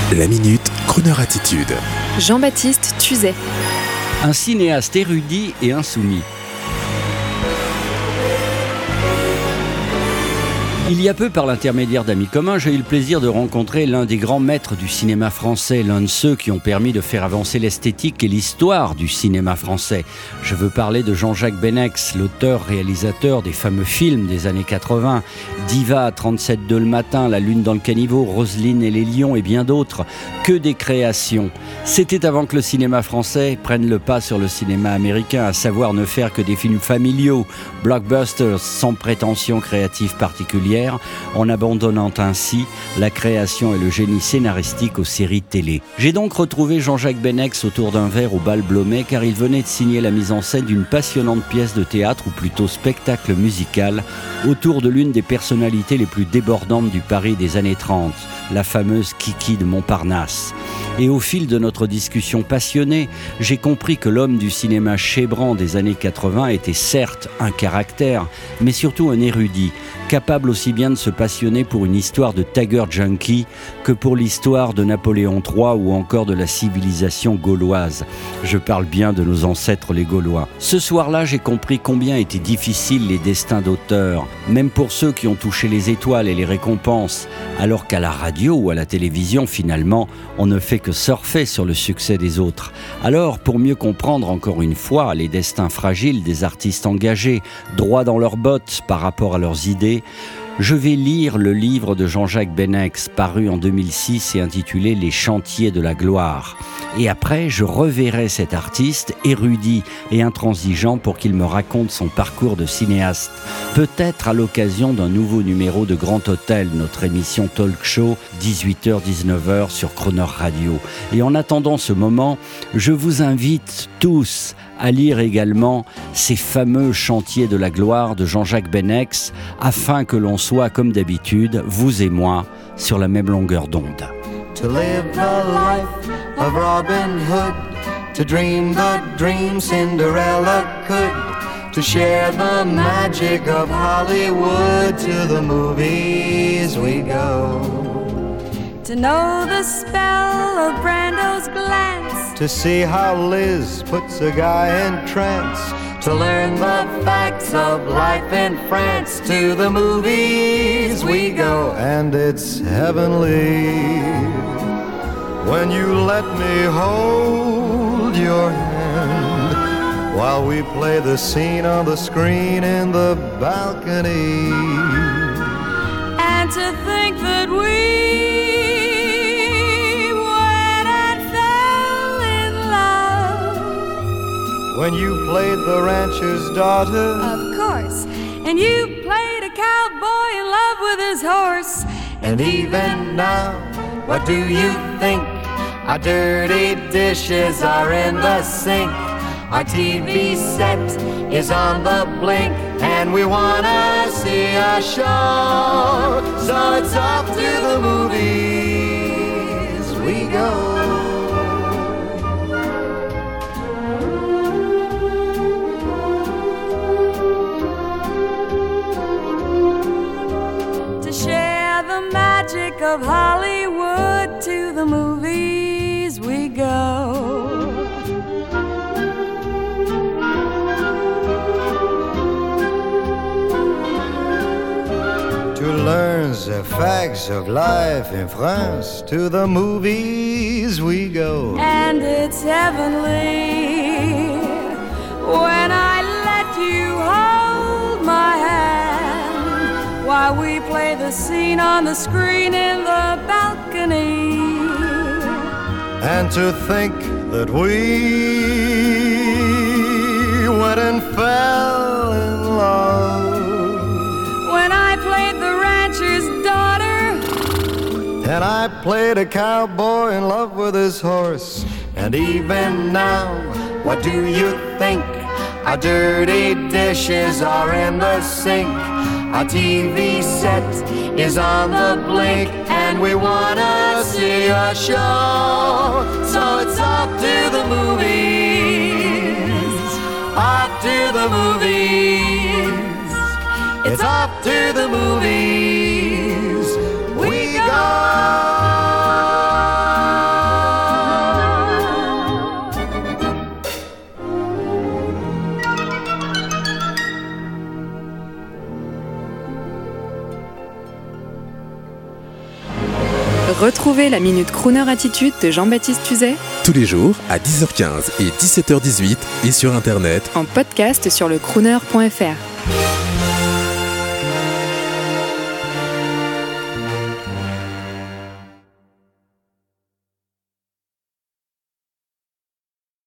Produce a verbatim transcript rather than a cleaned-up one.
La Minute, Kroneur Attitude. Jean-Baptiste Tuzet. Un cinéaste érudit et insoumis. Il y a peu, par l'intermédiaire d'amis communs, j'ai eu le plaisir de rencontrer l'un des grands maîtres du cinéma français, l'un de ceux qui ont permis de faire avancer l'esthétique et l'histoire du cinéma français. Je veux parler de Jean-Jacques Benex, l'auteur-réalisateur des fameux films des années quatre-vingts, Diva, trente-sept deux le matin, La lune dans le caniveau, Roselyne et les lions et bien d'autres. Que des créations. C'était avant que le cinéma français prenne le pas sur le cinéma américain, à savoir ne faire que des films familiaux, blockbusters sans prétention créative particulière, en abandonnant ainsi la création et le génie scénaristique aux séries télé. J'ai donc retrouvé Jean-Jacques Benex autour d'un verre au Bal Blomet, car il venait de signer la mise en scène d'une passionnante pièce de théâtre, ou plutôt spectacle musical, autour de l'une des personnalités les plus débordantes du Paris des années trente, la fameuse Kiki de Montparnasse. Et au fil de notre discussion passionnée, j'ai compris que l'homme du cinéma chébrant des années quatre-vingts était certes un caractère, mais surtout un érudit, capable aussi bien de se passionner pour une histoire de Tiger Junkie que pour l'histoire de Napoléon trois ou encore de la civilisation gauloise. Je parle bien de nos ancêtres les Gaulois. Ce soir-là, j'ai compris combien étaient difficiles les destins d'auteurs, même pour ceux qui ont touché les étoiles et les récompenses, alors qu'à la radio ou à la télévision, finalement, on ne fait que surfer sur le succès des autres. Alors, pour mieux comprendre encore une fois les destins fragiles des artistes engagés, droits dans leurs bottes par rapport à leurs idées, je vais lire le livre de Jean-Jacques Benex, paru en deux mille six et intitulé « Les chantiers de la gloire ». Et après, je reverrai cet artiste érudit et intransigeant pour qu'il me raconte son parcours de cinéaste. Peut-être à l'occasion d'un nouveau numéro de Grand Hôtel, notre émission talk show, dix-huit heures dix-neuf heures sur Kroneur Radio. Et en attendant ce moment, je vous invite tous à lire également ces fameux chantiers de la gloire de Jean-Jacques Benex, afin que l'on soit, comme d'habitude, vous et moi, sur la même longueur d'onde. To live the life of Robin Hood, to dream the dream Cinderella could, to share the magic of Hollywood, to the movies we go. To know the spell of Brando's glance, To see how Liz puts a guy in trance, to learn the facts of life in France, to the movies we go. And it's heavenly when you let me hold your hand while we play the scene on the screen in the balcony. And to think that we when you played the rancher's daughter, of course, and you played a cowboy in love with his horse. And even now, what do you think? Our dirty dishes are in the sink, our T V set is on the blink, and we wanna see a show, so it's off to the movies we go. Magic of Hollywood, to the movies we go. To learn the facts of life in France, to the movies we go. And it's heavenly when I let you hold my hand while we play the scene on the screen in the balcony. And to think that we went and fell in love when I played the rancher's daughter, and I played a cowboy in love with his horse. And even now, what do you think? Our dirty dishes are in the sink, our T V set is on the blink, and we wanna see a show, so it's off to the movies, off to the movies, it's off to the movies we go. Retrouvez la Minute Crooner Attitude de Jean-Baptiste Tuzet Tous les jours à dix heures quinze et dix-sept heures dix-huit et sur Internet en podcast sur le crooner point f r.